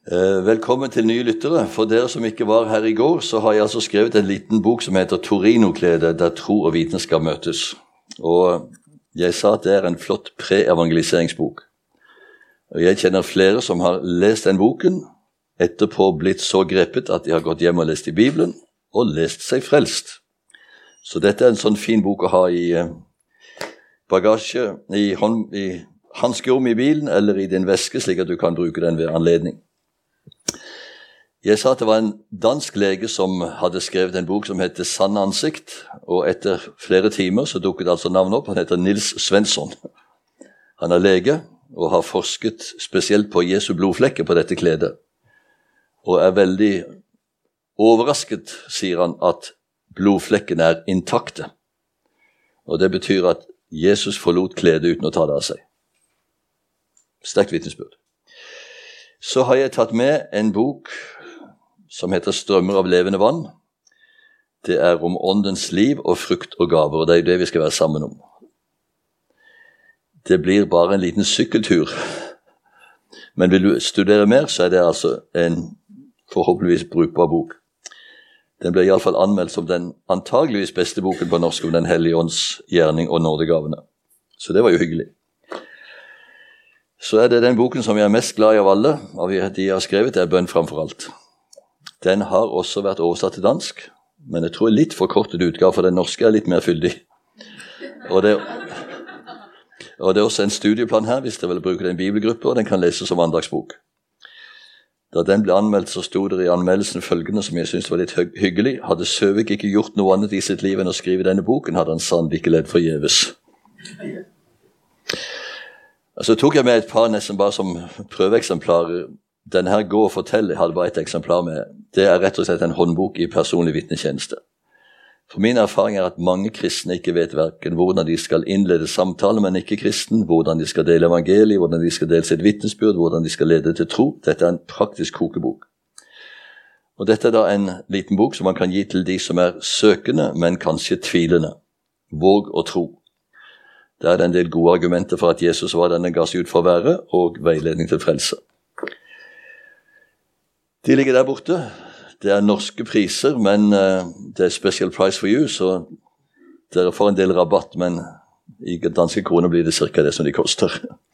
Velkommen til nye lyttere. For dere som ikke var her i går, så har jeg altså skrevet en liten bok som heter Torino-kledet, der tro og vitenskap møtes. Og jeg sa at det er en flott pre-evangeliseringsbok. Og jeg kjenner flere som har lest den boken, etterpå blitt så grepet at de har gått hjem og lest i Bibelen, og lest seg frelst. Så dette er en sånn fin bok å ha i bagasje, i handskerom i bilen, eller i din veske, slik at du kan bruke den ved anledning. Jeg sa at det var en dansk lege som hadde skrevet en bok som heter Sanne ansikt, og etter flere timer så dukket altså navnet opp. Han heter Nils Svensson. Han er lege og har forsket spesielt på Jesu blodflekker på dette kledet, og er veldig overrasket, sier han, at blodflekkene er intakte. Og det betyr at Jesus forlot kledet uten å ta det av seg. Sterkt vitnesbyrd. Så har jeg tatt med en bok som heter Strømmer av levende vann. Det er om åndens liv og frukt og gaver, og det er det vi skal være sammen om. Det blir bare en liten sykkeltur. Men vil du studere mer, så er det altså en forhåpentligvis brukbar bok. Den ble i alle fall anmeldt som den antageligvis beste boken på norsk om den hellige ånds gjerning og nådegavene. Så det var jo hyggelig. Så er det den boken som jeg er mest glad i av alle, av de jeg har skrevet, det er Bønn framfor alt. Den har også vært oversatt til dansk, men jeg tror litt forkortet utgave, for den norske er litt mer fyldig. Og det er også en studieplan her, hvis dere vil bruke den bibelgruppe, og den kan leses som andagsbok. Da den ble anmeldt, så stod det i anmeldelsen følgende, som jeg synes var litt hyggelig. Hadde Søvik ikke gjort noe annet i sitt liv enn å skrive denne boken, hadde han sannelig ikke ledd forgjeves. Så tok jeg med et par nesten bare som prøveeksemplarer. Denne her Gå og fortell, jeg hadde bare et eksemplar med. Det er rett og slett en håndbok i personlig vitnetjeneste. For min erfaring er at mange kristne ikke vet hverken hvordan de skal innlede samtale med en ikke-kristen, hvordan de skal dele evangeliet, hvordan de skal dele sitt vitnesbyrd, hvordan de skal lede til tro. Dette er en praktisk kokebok. Og dette er da en liten bok som man kan gi til de som er søkende, men kanskje tvilende. Våg å tro. Der er det en del gode argumenter for at Jesus var den ga seg ut for å være, og veiledning til frelse. De ligger der borte. Det er norske priser, men det er special price for you, så dere får en del rabatt, men i danske kroner blir det cirka det som de koster.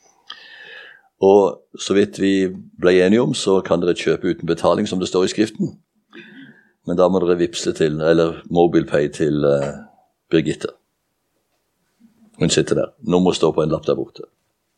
Og så vidt vi ble enige om, så kan dere kjøpe uten betaling, som det står i skriften. Men da må dere vipse til, eller mobilpay til Birgitte. Hun sitter der. Nummer står på en lapp der borte.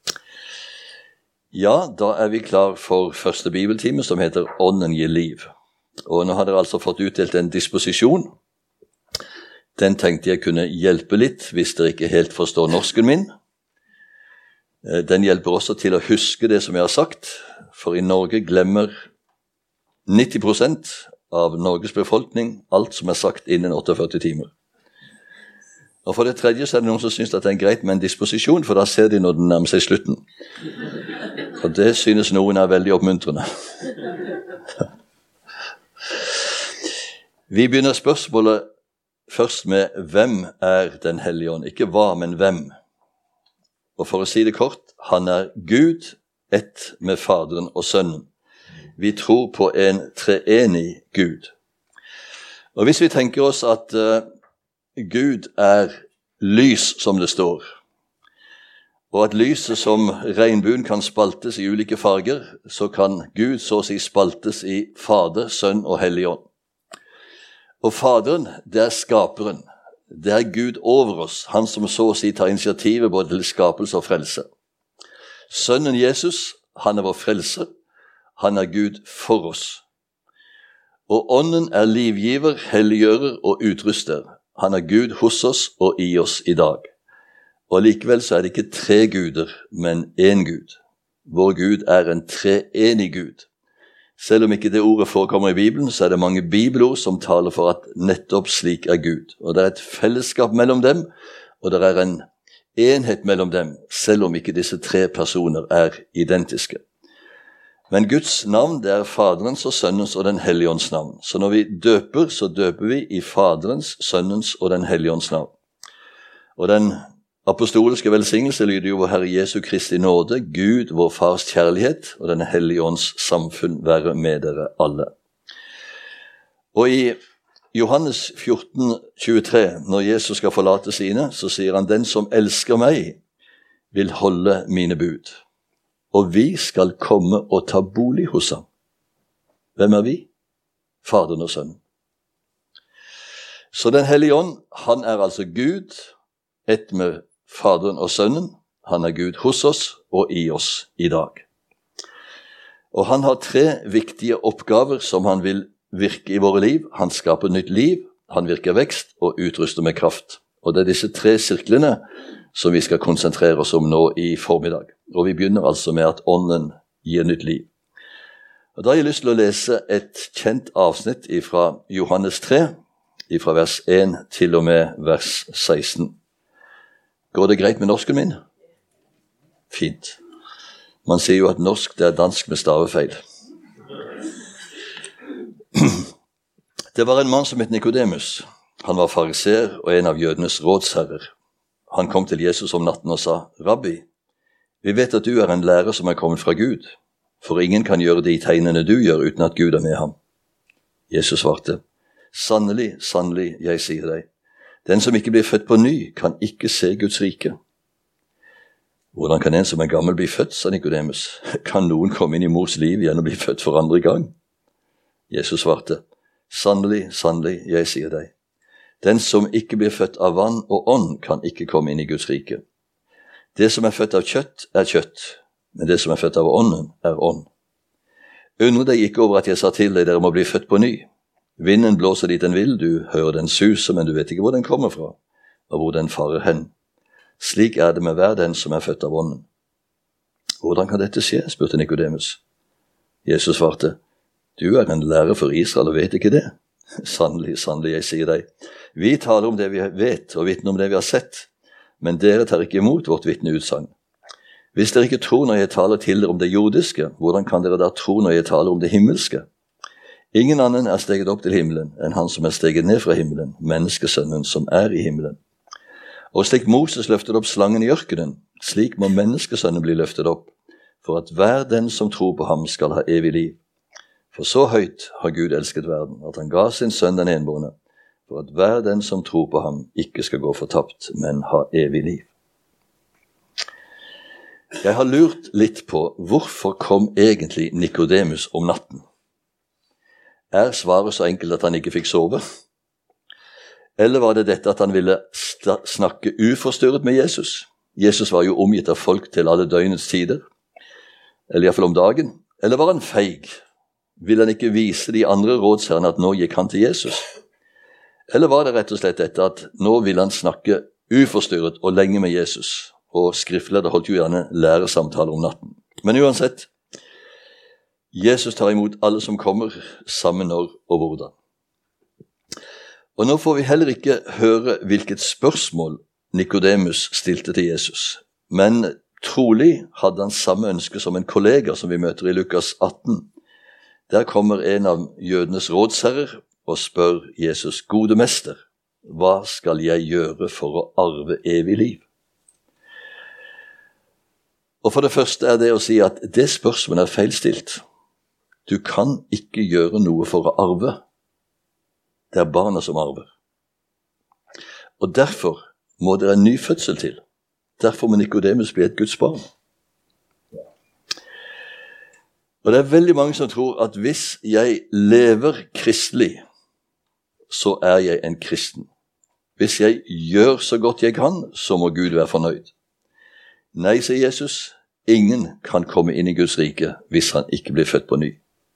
Ja, da er vi klar for første bibeltime som heter Ånden gir liv. Og nå har dere altså fått utdelt en disposisjon. Den tenkte jeg kunne hjelpe litt hvis dere ikke helt forstår norsken min. Den hjelper også til å huske det som jeg har sagt, for i Norge glemmer 90% av Norges befolkning alt som er sagt innen 48 timer. Og for det tredje så er det noen som synes at det er greit med en disposisjon, for da ser de når den nærmer seg slutten. Og det synes noen er veldig oppmuntrende. Vi begynner spørsmålet først med hvem er den hellige ånd? Ikke hva, men hvem. Og for å si det kort, han er Gud, ett med Faderen og Sønnen. Vi tror på en treenig Gud. Og hvis vi tenker oss at Gud er lys, som det står, og at lyset som regnbuen kan spaltes i ulike farger, så kan Gud så å si spaltes i Fader, Sønn og Hellig Ånd. Og Faderen, det er skaperen. Det er Gud over oss, han som så å si tar initiativet både til skapelse og frelse. Sønnen Jesus, han er vår frelser, han er Gud for oss. Og Ånden er livgiver, helliggjører og utruster. Han er Gud hos oss og i oss i dag. Og likevel så er det ikke tre guder, men én Gud. Vår Gud er en treenig Gud. Selv om ikke det ordet forekommer i Bibelen, så er det mange bibelord som taler for at nettopp slik er Gud. Og det er et fellesskap mellom dem, og det er en enhet mellom dem, selv om ikke disse tre personer er identiske. Men Guds navn, det er Faderens og Sønnens og den Hellige Ånds navn. Så når vi døper, så døper vi i Faderens, Sønnens og den Hellige Ånds navn. Og den apostoliske velsignelse lyder jo vår Herre Jesu Kristi nåde, Gud, vår Fars kjærlighet og den hellige ånds samfunn være med dere alle. Og i Johannes 14,23, når Jesus skal forlate sine, så sier han, den som elsker meg, vil holde mine bud, og vi skal komme og ta bolig hos ham. Hvem er vi? Faderen og Sønnen. Så den hellige ånd, han er altså Gud, ett med Faderen og Sønnen. Han er Gud hos oss og i oss i dag. Og han har 3 viktige oppgaver som han vil virke i våre liv. Han skaper nytt liv, han virker vekst og utruster med kraft. Og det er disse 3 sirklene som vi skal konsentrere oss om nå i formiddag. Og vi begynner altså med at ånden gir nytt liv. Og da har jeg lyst til å lese et kjent avsnitt fra Johannes 3, fra vers 1 til og med vers 16. Går det greit med norsken min? Fint. Man sier jo at norsk det er dansk med stavefeil. Det var en mann som het Nikodemus. Han var fariseer og en av jødenes rådsherrer. Han kom til Jesus om natten og sa, Rabbi, vi vet at du er en lærer som er kommet fra Gud, for ingen kan gjøre de tegnene du gjør uten at Gud er med ham. Jesus svarte, sannelig, sannelig, jeg sier deg, den som ikke blir født på ny, kan ikke se Guds rike. Hvordan kan en som er gammel bli født, sa Nikodemus. Kan noen komme inn i mors liv igjen og bli født for andre gang? Jesus svarte, sannelig, sannelig, jeg sier deg, den som ikke blir født av vann og ånd, kan ikke komme inn i Guds rike. Det som er født av kjøtt, er kjøtt, men det som er født av ånden, er ånd. Undre deg ikke over at jeg sa til deg, dere må bli født på ny. Vinden blåser dit den vil, du hører den suse, men du vet ikke hvor den kommer fra, og hvor den farer hen. Slik er det med hver den som er født av ånden. Hvordan kan dette skje, spurte Nikodemus. Jesus svarte, du er en lærer for Israel og vet ikke det. Sannelig, sannelig, jeg sier deg. Vi taler om det vi vet og vitner om det vi har sett, men dere tar ikke imot vårt vitneutsagn. Hvis dere ikke tror når jeg taler til dere om det jordiske, hvordan kan dere da tro når jeg taler om det himmelske? Ingen annen er steget opp til himmelen enn han som er steget ned fra himmelen, menneskesønnen som er i himmelen. Og slik Moses løftet opp slangen i ørkenen, slik må menneskesønnen bli løftet opp, for at hver den som tror på ham skal ha evig liv. For så høyt har Gud elsket verden, at han ga sin sønn den enbårne, for at hver den som tror på ham ikke skal gå fortapt, men ha evig liv. Jeg har lurt litt på hvorfor kom egentlig Nikodemus om natten. Er svaret så enkelt at han ikke fikk sove? Eller var det dette at han ville snakke uforstyrret med Jesus? Jesus var jo omgitt av folk til alle døgnets tider, eller i hvert fall om dagen. Eller var han feig? Ville han ikke vise de andre rådsherrene at nå gikk han til Jesus? Eller var det rett og slett dette at nå ville han snakke uforstyrret og lenge med Jesus? Og skriftleder holdt jo gjerne læresamtaler om natten. Men uansett, Jesus tar imot alle som kommer, samme når og hvordan. Og nå får vi heller ikke høre hvilket spørsmål Nikodemus stilte til Jesus. Men trolig hadde han samme ønske som en kollega som vi møter i Lukas 18. Der kommer en av jødenes rådsherrer og spør Jesus, gode mester, hva skal jeg gjøre for å arve evig liv? Og for det første er det å si at det spørsmålet er feilstilt. Du kan ikke gjøre noe for å arve. Det er barna som arver. Og derfor må det en ny fødsel til. Derfor må Nikodemus bli et Guds barn. Og det er veldig mange som tror at hvis jeg lever kristelig, så er jeg en kristen. Hvis jeg gjør så godt jeg kan, så må Gud være fornøyd. Nei, sier Jesus, ingen kan komme inn i Guds rike hvis han ikke blir født på ny.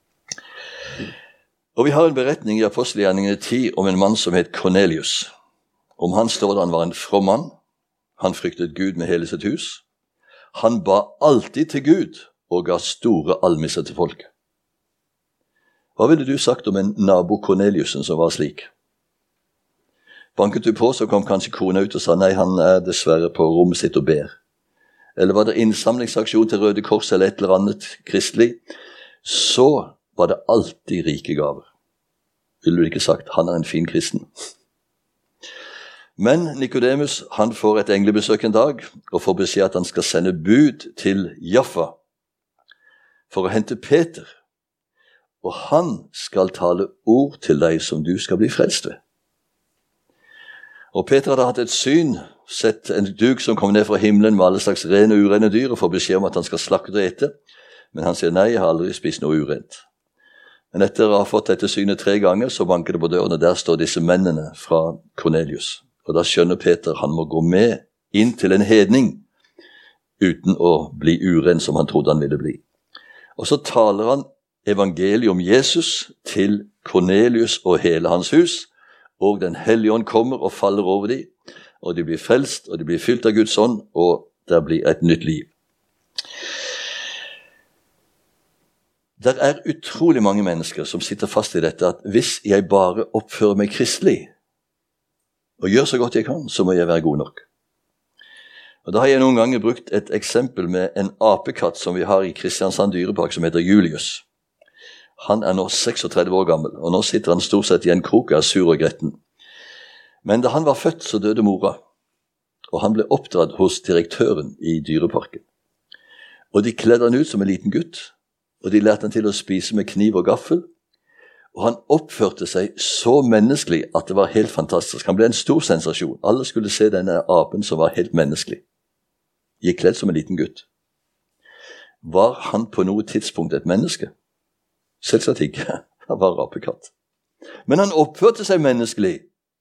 Og vi har en beretning i Apostelgjerningene 10 om en mann som het Cornelius. Om han står det han var en from mann. Han fryktet Gud med hele sitt hus. Han ba alltid til Gud og ga store almisser til folket. Hva ville du sagt om en nabo Corneliusen som var slik? Banket du på, så kom kanskje kona ut og sa nei, han er dessverre på rommet sitt og ber. Eller var det innsamlingsaksjon til Røde Kors eller et eller annet kristelig, så var det alltid rike gaver. Ville du ikke sagt, han er en fin kristen? Men Nikodemus, han får et englebesøk en dag, og får beskjed at han skal sende bud til Jaffa for å hente Peter. Og han skal tale ord til deg som du skal bli frelst ved. Og Peter hadde hatt et syn, sett en duk som kom ned fra himmelen med alle slags rene og urene dyr, og får beskjed om at han skal slakte og ete. Men han sier, nei, jeg har aldri spist noe urent. Men etter å ha fått dette synet 3 ganger, så banker det på døren, og der står disse mennene fra Kornelius. Og da skjønner Peter, han må gå med inn til en hedning, uten å bli uren som han trodde han ville bli. Og så taler han evangeliet om Jesus til Kornelius og hele hans hus, og Den hellige ånd kommer og faller over dem, og de blir frelst, og de blir fylt av Guds ånd, og det blir et nytt liv. Det er utrolig mange mennesker som sitter fast i dette, at hvis jeg bare oppfører meg kristelig, og gjør så godt jeg kan, så må jeg være god nok. Og da har jeg noen ganger brukt et eksempel med en apekatt som vi har i Kristiansand dyrepark, som heter Julius. Han er nå 36 år gammel, og nå sitter han stort sett i en krok av sur og gretten. Men da han var født, så døde mora, og han ble oppdratt hos direktøren i dyreparken. Og de kledde han ut som en liten gutt, og de lærte han til å spise med kniv og gaffel, og han oppførte seg så menneskelig at det var helt fantastisk. Han ble en stor sensasjon. Alle skulle se denne apen som var helt menneskelig. Gikk kledd som en liten gutt. Var han på noe tidspunkt et menneske? Selvsagt ikke. Han var apekatt. Men han oppførte seg menneskelig.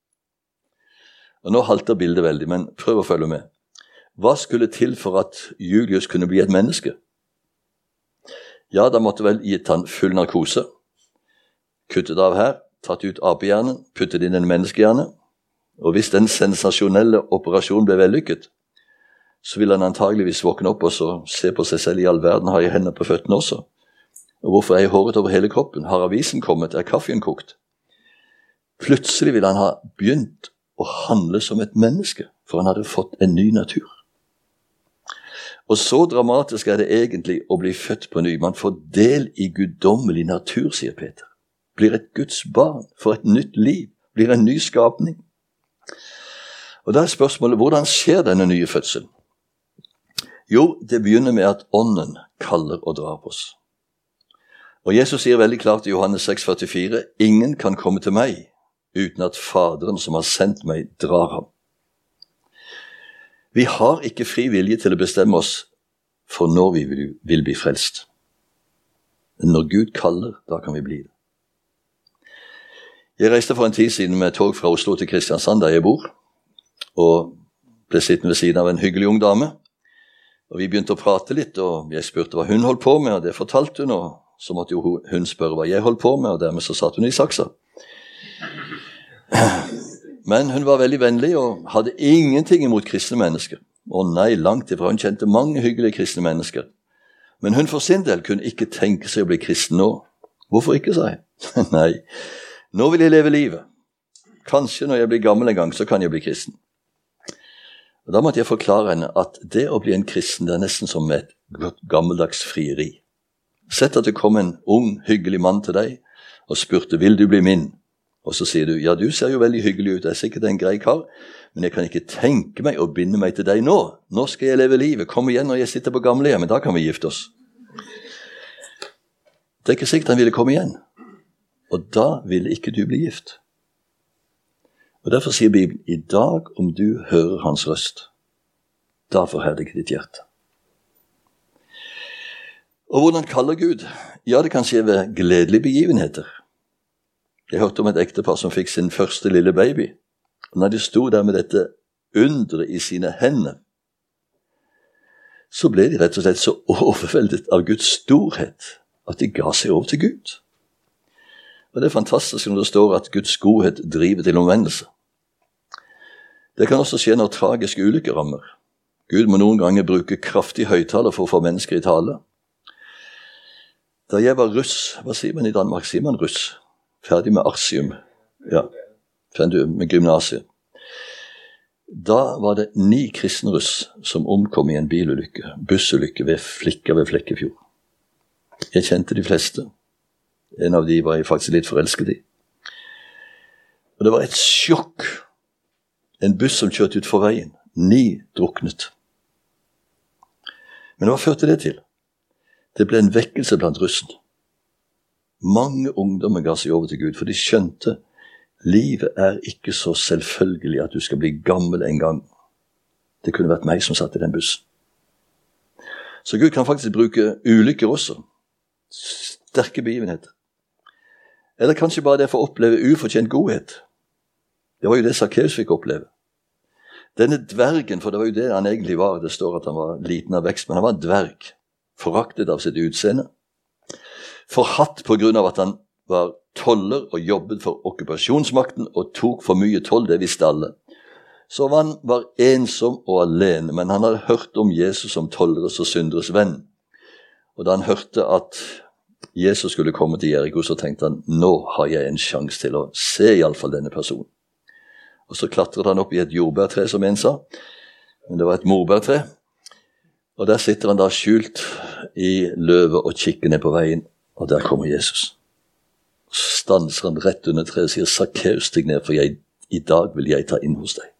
Og nå halter bildet veldig, men prøv å følge med. Hva skulle til for at Julius kunne bli et menneske? Ja, da måtte vel gitt han full narkose. Kuttet av her, tatt ut apehjernen, puttet inn en menneskehjerne. Og hvis den sensasjonelle operasjonen ble vellykket, så ville han antageligvis våkne opp og så se på seg selv i all verden. Har jeg hender på føttene også? Og hvorfor er jeg håret over hele kroppen? Har avisen kommet? Er kaffen kokt? Plutselig ville han ha begynt å handle som et menneske, for han hadde fått en ny natur. Og så dramatisk er det egentlig å bli født på ny. Man får del i guddommelig natur, sier Peter. Blir et Guds barn, får et nytt liv, blir en ny skapning. Og da er spørsmålet, hvordan skjer denne nye fødselen? Jo, det begynner med at ånden kaller og drar på oss. Og Jesus sier veldig klart i Johannes 6,44, ingen kan komme til meg uten at Faderen som har sendt meg drar ham. Vi har ikke fri vilje til å bestemme oss for når vi vil bli frelst. Men når Gud kaller, da kan vi bli det. Jeg reiste for en tid siden med tog fra Oslo til Kristiansand, der jeg bor, og ble sittende ved siden av en hyggelig ung dame. Og vi begynte å prate litt, og jeg spurte hva hun holdt på med, og det fortalte hun, og så måtte jo hun spørre hva jeg holdt på med, og dermed så satt hun i saksa. Men hun var veldig vennlig og hadde ingenting imot kristne mennesker. Og nei, langt ifra. Hun kjente mange hyggelige kristne mennesker. Men hun for sin del kunne ikke tenke seg å bli kristen nå. Hvorfor ikke, sa jeg? Nei, nå vil jeg leve livet. Kanskje når jeg blir gammel en gang, så kan jeg bli kristen. Og da måtte jeg forklare henne at det å bli en kristen, det er nesten som et gammeldags frieri. Sett at det kom en ung, hyggelig mann til deg og spurte, vil du bli min? Og så sier du, ja, du ser jo veldig hyggelig ut, jeg er sikkert en grei kar, men jeg kan ikke tenke meg å binde meg til deg nå. Nå skal jeg leve livet, kom igjen når jeg sitter på gamlehjemmet, da kan vi gifte oss. Det er ikke sikkert han ville komme igjen, og da ville ikke du bli gift. Og derfor sier Bibelen, i dag om du hører hans røst, da forherdiger ditt hjerte. Og hvordan kaller Gud? Ja, det kan skje ved gledelige begivenheter. Jeg hørte om et ektepar som fikk sin første lille baby. Og når de sto der med dette underet i sine hender, så ble de rett og slett så overveldet av Guds storhet at de ga seg over til Gud. Og det er fantastisk når det står at Guds godhet driver til omvendelse. Det kan også skje når tragiske ulykker rammer. Gud må noen ganger bruke kraftig høyttaler for å få mennesker i tale. Da jeg var russ, hva sier man i Danmark? Sier man russ? Ferdig med artium. Ja, ferdig med gymnasiet. Da var det 9 kristne russ som omkom i en bilulykke, bussulykke ved Flekkefjord. Jeg kjente de fleste. En av de var jeg faktisk litt forelsket i. Og det var et sjokk. en buss som kjørte ut for veien. 9 druknet. Men hva førte det til? Det ble en vekkelse blant russen. Mange ungdommer ga seg over til Gud, for de skjønte livet er ikke så selvfølgelig at du skal bli gammel en gang. Det kunne vært meg som satt i den bussen. Så Gud kan faktisk bruke ulykker også. Sterke begivenheter. Eller kanskje bare det for å oppleve ufortjent godhet. Det var jo det Sakkeus fikk oppleve. Denne dvergen, for det var jo det han egentlig var, det står at han var liten av vekst, men han var en dverg, foraktet av sitt utseende, forhatt på grunn av at han var toller og jobbet for okkupasjonsmakten og tok for mye toll, det visste alle. Så han var ensom og alene, men han hadde hørt om Jesus som tolleres og synderes venn. Og da han hørte at Jesus skulle komme til Jericho, så tenkte han, nå har jeg en sjanse til å se i alle fall denne personen. Og så klatret han opp i et jordbærtre, som en sa, men det var et morbærtre. Og der sitter han da skjult i løvet og kikker ned på veien, og der kommer Jesus. Så stanser han rett under treet og sier, Sakkeus, stig ned, for i dag vil jeg ta inn hos deg.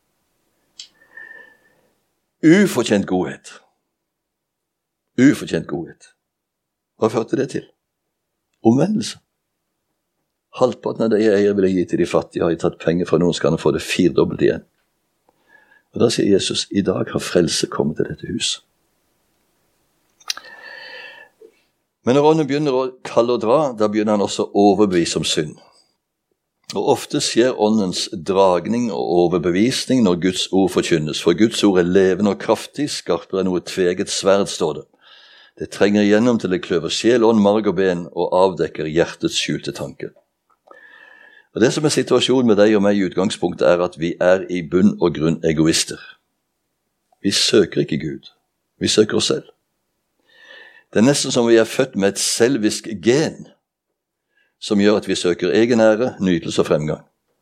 Ufortjent godhet. Ufortjent godhet. Hva førte det til? Omvendelse. Halvparten av det jeg eier vil jeg gi til de fattige. Har jeg tatt penger fra noen, skal han få det 4-dobbelt igjen. Og da sier Jesus, i dag har frelse kommet til dette hus. Men når ånden begynner å kalle og dra, da begynner han også å overbevise om synd. Og ofte skjer åndens dragning og overbevisning når Guds ord forkynnes. For Guds ord er levende og kraftig, skarpere enn noe tveget sverd, står det. Det trenger igjennom til det kløver sjel, ånd, marg og ben og avdekker hjertets skjulte tanker. Og det som er situasjonen med deg og meg i utgangspunktet er at vi er i bunn og grunn egoister. Vi søker ikke Gud. Vi søker oss selv. Det er nesten som vi er født med et selvisk gen som gjør at vi søker egen ære, nytelse og fremgang.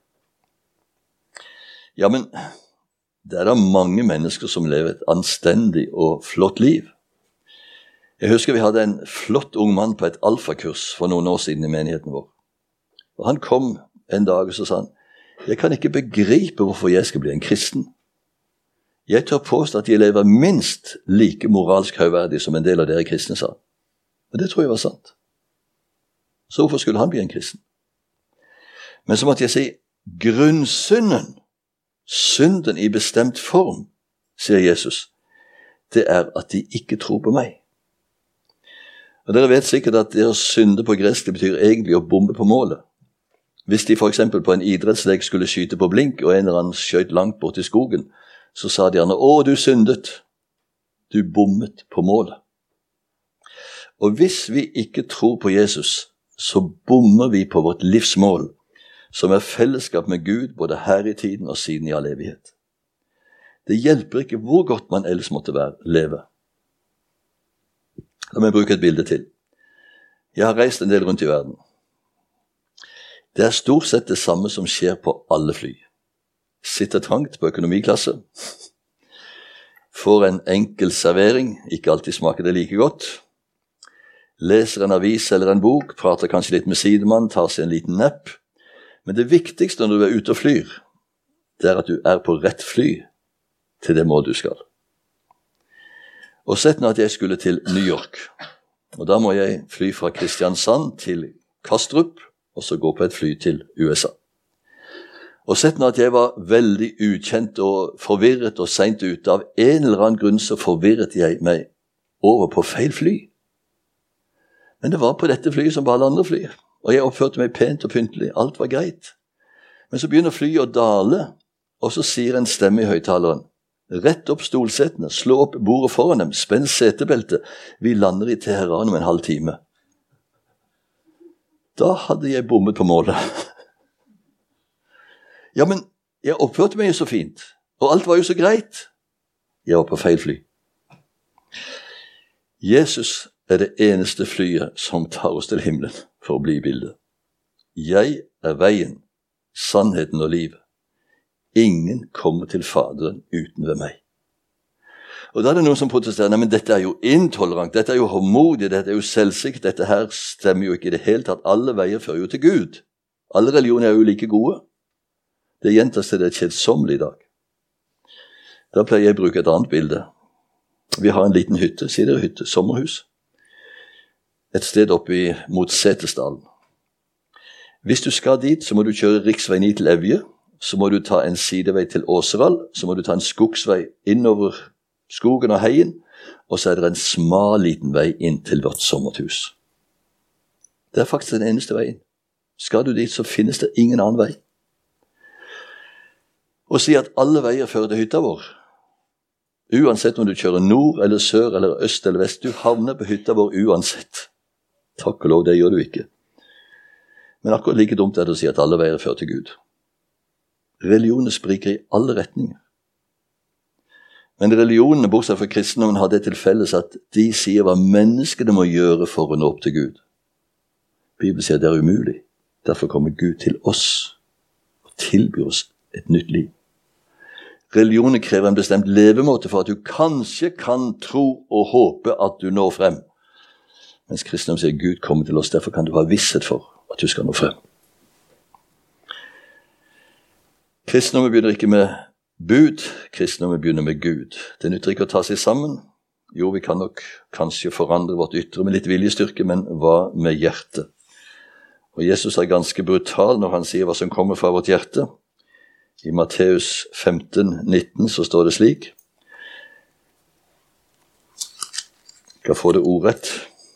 Ja, men det er da mange mennesker som lever et anstendig og flott liv. Jeg husker vi hadde en flott ung mann på et alfakurs for noen år siden i menigheten vår. Og han kom en dag og så sa han, jeg kan ikke begripe hvorfor jeg skal bli en kristen. Jeg tør påstå at jeg lever minst like moralsk høyverdig som en del av dere kristne sa. Men det tror jeg var sant. Så hvorfor skulle han bli en kristen? Men så måtte jeg si, grunnsynden, synden i bestemt form, sier Jesus, det er at de ikke tror på meg. Og dere vet sikkert at det å synde på gresk, det betyr egentlig å bombe på målet. Hvis de for eksempel på en idrettslek skulle skyte på blink, og en eller annen skjøt langt bort i skogen, så sa de gjerne, å, du syndet. Du bommet på målet. Og hvis vi ikke tror på Jesus, så bommer vi på vårt livsmål, som er fellesskap med Gud, både her i tiden og siden i all evighet. Det hjelper ikke hvor godt man ellers måtte leve. La meg bruke et bilde til. Jeg har reist en del rundt i verden. Det er stort sett det samme som skjer på alle fly. Sitter trangt på økonomiklasse, får en enkel servering, ikke alltid smaker det like godt, leser en avis eller en bok, prater kanskje litt med sidemann, tar seg en liten nepp. Men det viktigste når du er ute og flyr, det er at du er på rett fly til det mål du skal. Og sett nå at jeg skulle til New York, og da må jeg fly fra Kristiansand til Kastrup, og så gå på et fly til USA. Og sett nå at jeg var veldig ukjent og forvirret og sent ute. Av en eller annen grunn så forvirret jeg meg over på feil fly. Men det var på dette flyet som på alle andre fly. Og jeg oppførte meg pent og pyntelig. Alt var greit. Men så begynner flyet å dale, og så sier en stemme i høyttaleren, rett opp stolsetene, slå opp bordet foran dem, spenn setebeltet. Vi lander i Teheran om en halv time. Da hadde jeg bommet på målet. Ja, men jeg oppførte meg jo så fint, og alt var jo så greit. Jeg var på feil fly. Jesus er det eneste flyet som tar oss til himmelen for å bli i bildet. Jeg er veien, sannheten og livet. Ingen kommer til Faderen uten ved meg. Og da er det noen som protesterer, nei, men dette er jo intolerant, dette er jo håndmodig, dette er jo selvsikkert, dette her stemmer jo ikke i det hele tatt. Alle veier fører jo til Gud. Alle religioner er jo like gode. Det gjentas til det kjedsommelig i dag. Da pleier jeg å bruke et annet bilde. Vi har en liten hytte, sier dere hytte, sommerhus. Et sted oppe mot Setesdalen. Hvis du skal dit, så må du kjøre riksvei 9 til Evje, så må du ta en sidevei til Åseral, så må du ta en skogsvei innover skogen og heien, og så er det en smal liten vei inn til vårt sommerhus. Det er faktisk den eneste veien. Skal du dit, så finnes det ingen annen vei. Og si at alle veier fører til hytta vår. Uansett om du kjører nord eller sør eller øst eller vest, du havner på hytta vår uansett. Takk og lov, det gjør du ikke. Men akkurat like dumt er det å si at alle veier fører til Gud. Religionene spriker i alle retninger. Men religionene, bortsett fra kristendommen, har det til felles at de sier hva menneskene må gjøre for å nå opp til Gud. Bibelen sier det er umulig. Derfor kommer Gud til oss og tilbyr oss et nytt liv. Religionen krever en bestemt levemåte for at du kanskje kan tro og håpe at du når frem. Mens kristendom sier Gud kommer til oss, derfor kan du ha visshet for at du skal nå frem. Kristendommen begynner ikke med bud, kristendommen begynner med Gud. Det nytter ikke å ta seg sammen. Jo, vi kan nok kanskje forandre vårt ytre med litt viljestyrke, men hva med hjertet? Og Jesus er ganske brutal når han sier hva som kommer fra vårt hjerte. I Matteus 15:19 så står det slik. Jeg skal få det ordrett.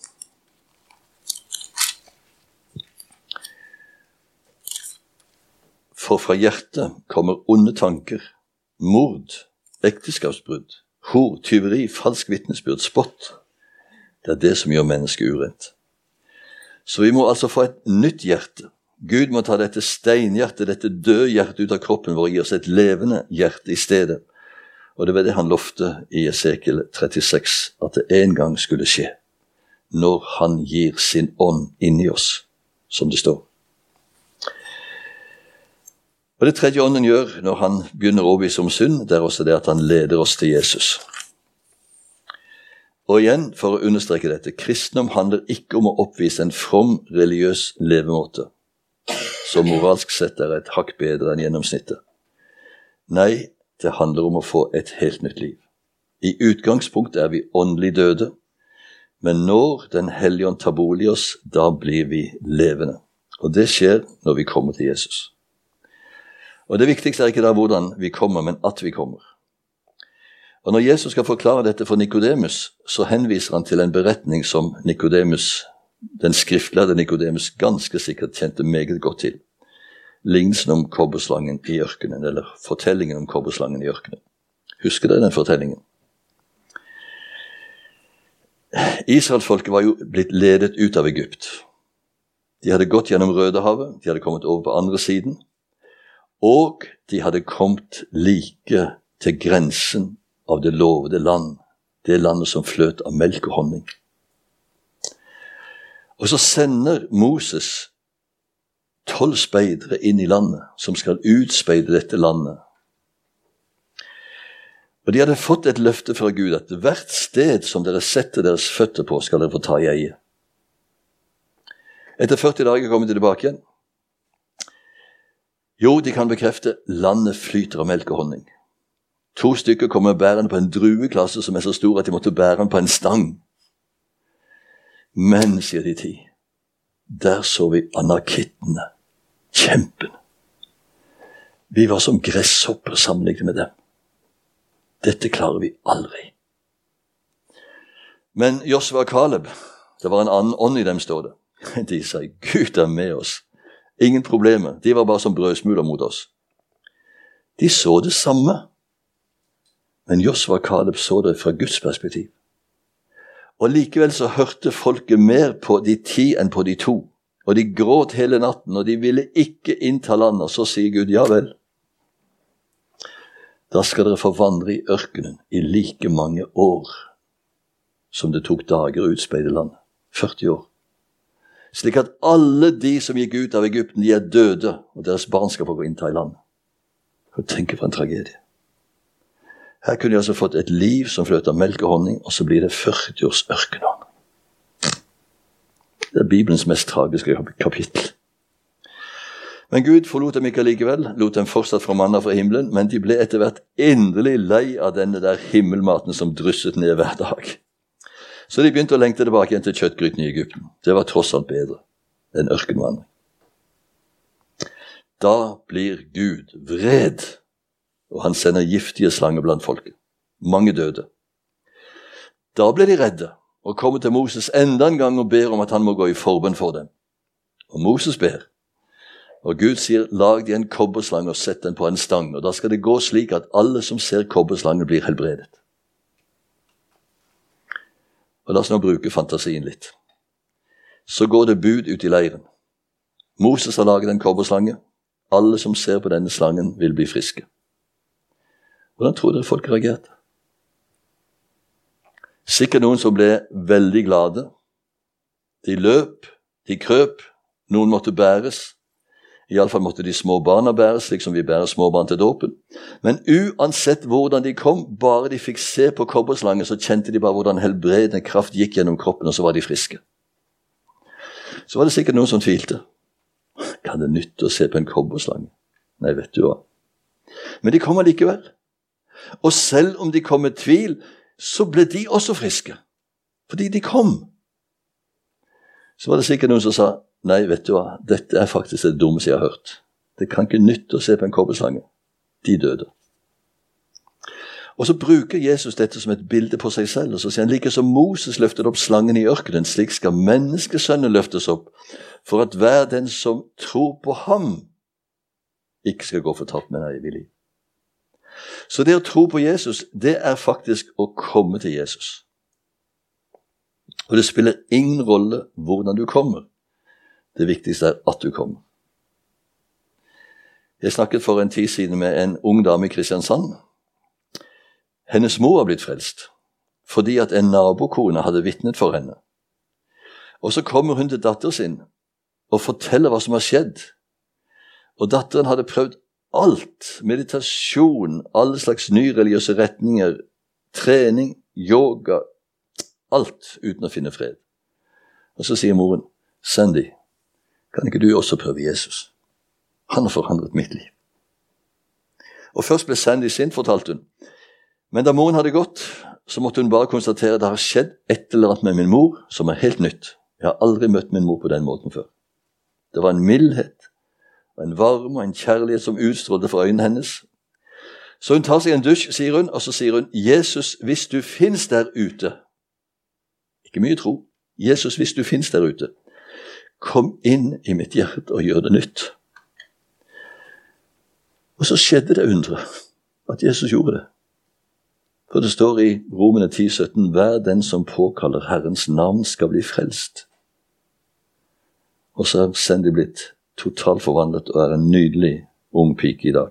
For fra hjertet kommer onde tanker, mord, ekteskapsbrudd, hor, tyveri, falsk vitnesbyrd, spott. Det er det som gjør mennesket urent. Så vi må altså få et nytt hjerte. Gud må ta dette steinhjertet, dette døde hjertet ut av kroppen vår og gi oss et levende hjerte i stedet. Og det var det han lovte i Esekiel 36, at det en gang skulle skje, når han gir sin ånd inn i oss, som det står. Og det tredje ånden gjør når han begynner å overbevise om synd, det er også det at han leder oss til Jesus. Og igjen, for å understreke dette, kristendom handler ikke om å oppvise en from religiøs levemåte, som moralsk sett er et hakk bedre enn gjennomsnittet. Nei, det handler om å få et helt nytt liv. I utgangspunktet er vi åndelig døde, men når Den hellige ånd tar bolig i oss, da blir vi levende. Og det skjer når vi kommer til Jesus. Og det viktigste er ikke da hvordan vi kommer, men at vi kommer. Og når Jesus skal forklare dette for Nikodemus, så henviser han til en beretning som Nikodemus, den skriftlærde Nikodemus, ganske sikkert kjente meget godt til. Lignelsen om kobberslangen i ørkenen, eller fortellingen om kobberslangen i ørkenen. Husker dere den fortellingen? Israelsfolket var jo blitt ledet ut av Egypt. De hadde gått gjennom Rødehavet, de hadde kommet over på andre siden, og de hadde kommet like til grensen av det lovede land, det landet som fløt av melk og honning. Og så sender Moses 12 speidere inn i landet, som skal utspeide dette landet. Og de hadde fått et løfte fra Gud, at hvert sted som dere setter deres føtter på, skal dere få ta i eie. Etter 40 dager kommer de tilbake igjen. Jo, de kan bekrefte, landet flyter av melk og honning. 2 stykker kommer bærende på en drueklasse som er så stor at de måtte bære den på en stang. Men, sier de 10, der så vi anakittene, kjempene. Vi var som gresshopper sammenlignet med dem. Dette klarer vi aldri. Men Josva og Kaleb, det var en annen ånd i dem, står det. De sa, Gud er med oss. Ingen problemer. De var bare som brødsmuler mot oss. De så det samme. Men Josva og Kaleb så det fra Guds perspektiv. Og likevel så hørte folket mer på de 10 enn på de 2. Og de gråt hele natten, og de ville ikke innta landet. Og så sier Gud, ja vel. Da skal dere få vandre i ørkenen i like mange år som det tok dager å utspeide landet. 40 år. Slik at alle de som gikk ut av Egypten, de er døde, og deres barn skal få gå innta i landet. Og tenke på en tragedie. Her kunne de altså fått et liv som fløt av melk og honning, og så blir det 40 års ørkenånd. Det er Bibelens mest tragiske kapittel. Men Gud forlot dem ikke likevel, lot dem fortsatt fra manna fra himmelen, men de ble etter hvert endelig lei av denne der himmelmaten som drysset ned hver dag. Så de begynte å lengte tilbake igjen til kjøttgryten i Egypten. Det var tross alt bedre enn ørkenvandring. Da blir Gud vred, og han sender giftige slanger blant folket. Mange døde. Da ble de redde, og kommer til Moses enda en gang og ber om at han må gå i forbønn for dem. Og Moses ber. Og Gud sier, lag de en kobberslange og sett den på en stang, og da skal det gå slik at alle som ser kobberslangen blir helbredet. Og la oss nå bruke fantasien litt. Så går det bud ut i leiren. Moses har laget en kobberslange. Alle som ser på denne slangen vil bli friske. Hvordan tror dere folk reagerte? Sikkert noen som ble veldig glade. De løp, de krøp, noen måtte bæres. I alle fall måtte de små barna bæres, slik som vi bærer små barn til dåpen. Men uansett hvordan de kom, bare de fikk se på kobberslangen, så kjente de bare hvordan helbredende kraft gikk gjennom kroppen, og så var de friske. Så var det sikkert noen som tvilte. Kan det nytte å se på en kobberslange? Nei, vet du hva. Men de kom allikevel. Og selv om de kom med tvil, så ble de også friske. Fordi de kom. Så var det sikkert noen som sa, nei, vet du hva, dette er faktisk det dummeste jeg har hørt. Det kan ikke nytte å se på en kobberslange. De døde. Og så bruker Jesus dette som et bilde på seg selv, og så sier han, like som Moses løftet opp slangen i ørkenen, slik skal menneskesønnen løftes opp, for at hver den som tror på ham, ikke skal gå fortapt, men er evig liv. Så det å tro på Jesus, det er faktisk å komme til Jesus. Og det spiller ingen rolle hvordan du kommer. Det viktigste er at du kommer. Jeg snakket for en tid siden med en ung dame i Kristiansand. Hennes mor var blitt frelst, fordi at en nabokone hadde vitnet for henne. Og så kommer hun til datter sin og forteller hva som har skjedd. Og datteren hadde prøvd alt, meditasjon, alle slags nye religiøse retninger, trening, yoga, alt uten å finne fred. Og så sier moren, Sandy, kan ikke du også prøve Jesus? Han har forandret mitt liv. Og først ble Sandy sint, fortalte hun. Men da moren hadde gått, så måtte hun bare konstatere at det har skjedd et eller annet med min mor som er helt nytt. Jeg har aldri møtt min mor på den måten før. Det var en mildhet, en varme og en kjærlighet som utstrålte fra øynene hennes. Så hun tar seg en dusj, sier hun, og så sier hun, Jesus, hvis du finnes der ute, ikke mye tro, Jesus, hvis du finnes der ute, kom inn i mitt hjerte og gjør det nytt. Og så skjedde det undre, at Jesus gjorde det. For det står i Romerne 10:17, hver den som påkaller Herrens navn skal bli frelst. Og så er Sandy blitt totalt forvandlet og er en nydelig ung pike i dag.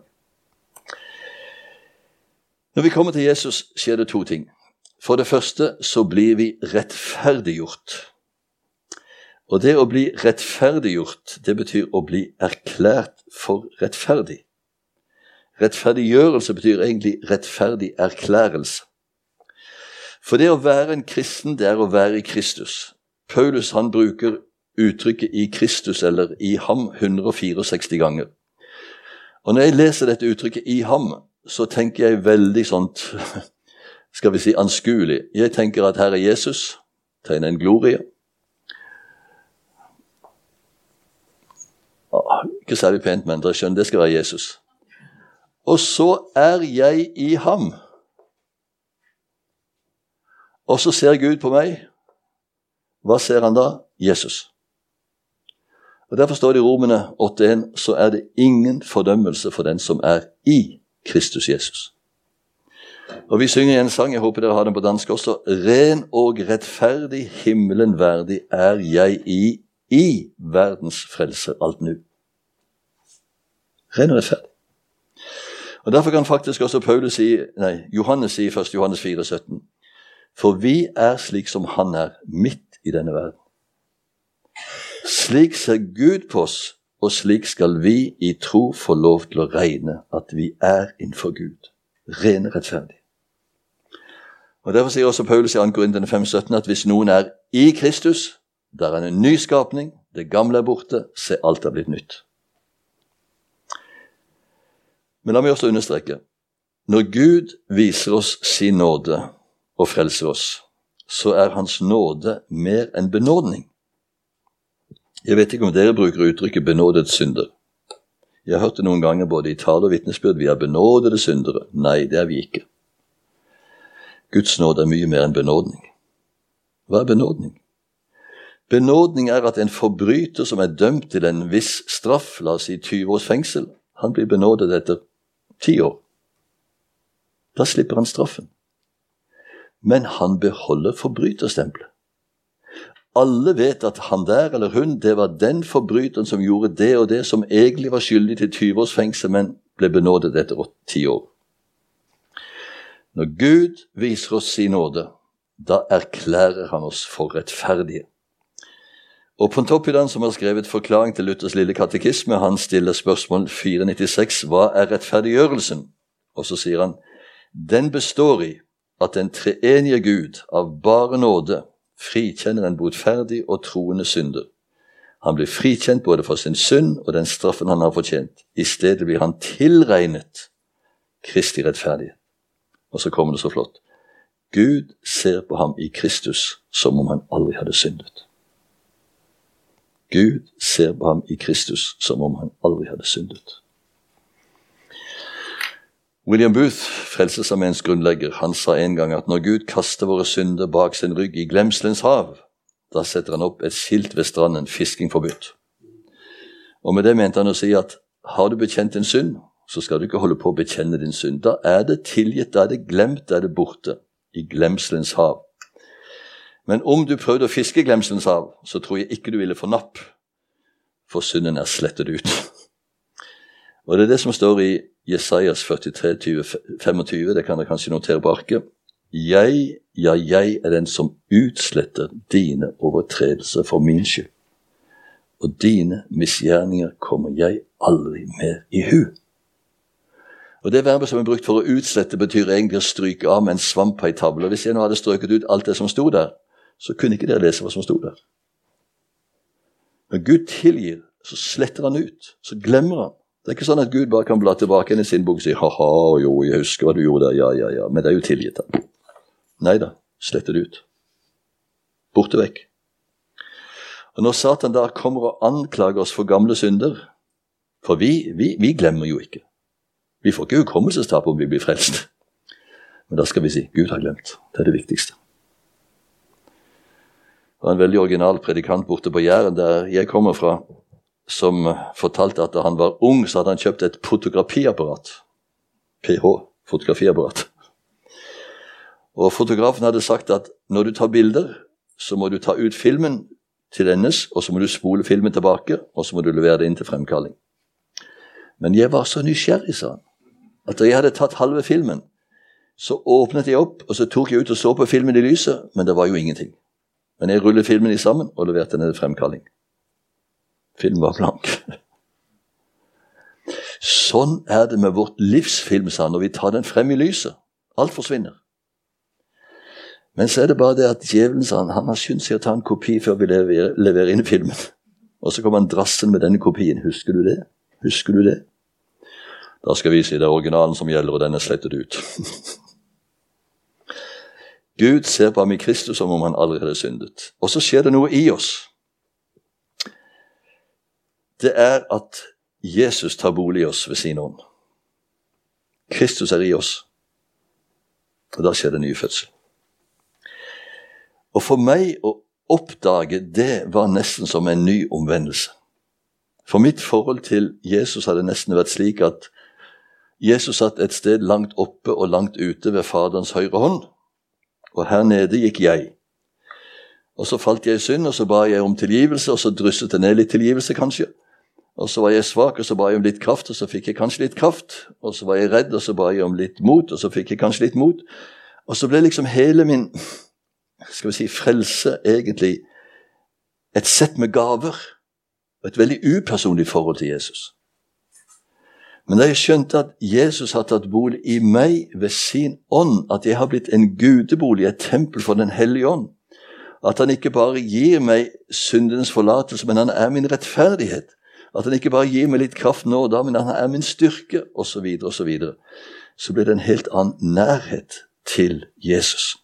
Når vi kommer til Jesus, skjer det to ting. For det første så blir vi rettferdiggjort. Og det å bli rettferdiggjort, det betyr å bli erklært for rettferdig. Rettferdiggjørelse betyr egentlig rettferdig erklærelse. For det å være en kristen, det er å være i Kristus. Paulus, han bruker uttrykket i Kristus eller i ham 164 ganger. Og når jeg leser dette uttrykket i ham, så tenker jeg veldig sånt, skal vi si anskuelig. Jeg tenker at her er Jesus, tegner en glorie. Ikke særlig pent, men dere skjønner, det skal være Jesus. Og så er jeg i ham. Og så ser Gud på meg. Hva ser han da? Jesus. Og derfor står det i Romerne 8:1, så er det ingen fordømmelse for den som er i Kristus Jesus. Og vi synger i en sang, jeg håper dere har den på dansk også, ren og rettferdig himmelen verdig er jeg i verdens frelser alt nu. Ren og rettferdig. Og derfor kan faktisk også Johannes si i 1. Johannes 4:17, for vi er slik som han er midt i denne verden. Slik ser Gud på oss, og slik skal vi i tro få lov til å regne at vi er innenfor Gud. Ren rettferdig. Og derfor sier også Paulus i 2. Korinterne 5:17 at hvis noen er i Kristus, der er en ny skapning, det gamle er borte, se alt er blitt nytt. Men la meg også understreke, når Gud viser oss sin nåde og frelser oss, så er hans nåde mer enn benådning. Jeg vet ikke om dere bruker uttrykket benådet synder. Jeg har hørt det noen ganger både i tale og vitnesbyrd, vi er benådede syndere. Nei, det er vi ikke. Guds nåde er mye mer enn benådning. Hva er benådning? Benådning er at en forbryter som er dømt til en viss straff, la oss si 20 års fengsel, han blir benådet etter 10 år. Da slipper han straffen. Men han beholder forbryterstempelet. Alle vet at han der eller hun, det var den forbryteren som gjorde det og det, som egentlig var skyldig til 20 års fengsel, men ble benådet etter 10 år. Når Gud viser oss sin nåde, da erklærer han oss for rettferdige. Og Pontoppidan, som har skrevet forklaring til Luthers lille katekisme, han stiller spørsmål 496, hva er rettferdiggjørelsen? Og så sier han, den består i at den treenige Gud av bare nåde frikjenner en botferdig og troende synder. Han blir frikjent både for sin synd og den straffen han har fortjent. I stedet blir han tilregnet Kristi rettferdighet. Og så kommer det så flott. Gud ser på ham i Kristus som om han aldri hadde syndet. Gud ser på ham i Kristus som om han aldri hadde syndet. William Booth, Frelsesarmeens grunnlegger, han sa en gang at når Gud kaster våre synder bak sin rygg i glemselens hav, da setter han opp et skilt ved stranden, fisking forbudt. Og med det mente han å si at har du bekjent en synd, så skal du ikke holde på å bekjenne din synd. Da er det tilgitt, da er det glemt, da er det borte i glemselens hav. Men om du prøvde å fiske i glemselens hav, så tror jeg ikke du ville få napp, for synden er slettet ut. Og det er det som står i Jesajas 43, 25, det kan dere kanskje notere på arket. Jeg er den som utsletter dine overtredelser for min skyld. Og dine misgjerninger kommer jeg aldri mer i hu. Og det verbet som er brukt for å utslette betyr egentlig å stryke av med en svamp på en tavle. Og hvis jeg nå hadde strøket ut alt det som stod der, så kunne ikke dere lese hva som stod der. Når Gud tilgir, så sletter han ut, så glemmer han. Det er ikke sånn at Gud bare kan bla tilbake inn i sin bok og si, haha, jo, jeg husker hva du gjorde der, ja, men det er jo tilgitt da. Neida, sletter det ut. Borte vekk. Og når Satan da kommer og anklager oss for gamle synder, for vi glemmer jo ikke. Vi får ikke hukommelsestap om vi blir frelst. Men da skal vi si, Gud har glemt. Det er det viktigste. Det var en veldig original predikant borte på Jæren, der jeg kommer fra, som fortalte at da han var ung, så hadde han kjøpt et fotografiapparat. PH, fotografiapparat. Og fotografen hadde sagt at når du tar bilder, så må du ta ut filmen til endes, og så må du spole filmen tilbake, og så må du levere det inn til fremkalling. Men jeg var så nysgjerrig, sa han, at da jeg hadde tatt halve filmen, så åpnet jeg opp, og så tok jeg ut og så på filmen i lyset, men det var jo ingenting. Men jeg rullet filmen i sammen, og leverte den til fremkalling. Film var blank. Sånn er det med vårt livsfilm, sa han, når vi tar den frem i lyset. Alt forsvinner. Men så er det bare det at djevelen, sa han har skyndt seg å ta en kopi før vi leverer inn filmen. Og så kommer han drassen med denne kopien. Husker du det? Husker du det? Da skal vi si det er originalen som gjelder, og den er slettet ut. Gud ser på ham i Kristus som om han aldri hadde syndet. Og så skjer det noe i oss. Det er at Jesus tar bolig i oss ved sin ånd. Kristus er i oss. Og da skjer det ny fødsel. Og for meg å oppdage det var nesten som en ny omvendelse. For mitt forhold til Jesus hadde nesten vært slik at Jesus satt et sted langt oppe og langt ute ved Faderens høyre hånd. Og her nede gikk jeg. Og så falt jeg i synd, og så ba jeg om tilgivelse, og så drysset det ned litt tilgivelse kanskje. Og så var jeg svak, og så ba jeg om litt kraft, og så fikk jeg kanskje litt kraft. Og så var jeg redd, og så ba jeg om litt mot, og så fikk jeg kanskje litt mot. Og så ble liksom hele min, skal vi si, frelse egentlig et sett med gaver. Og et veldig upersonlig forhold til Jesus. Men da jeg skjønte at Jesus har tatt bolig i meg ved sin ånd, at jeg har blitt en gudebolig, et tempel for den hellige ånd, at han ikke bare gir meg syndens forlatelse, men han er min rettferdighet, At han ikke bare gir meg litt kraft nå og da, men han er min styrke, og så videre, og så videre. Så blir det en helt annen nærhet til Jesus.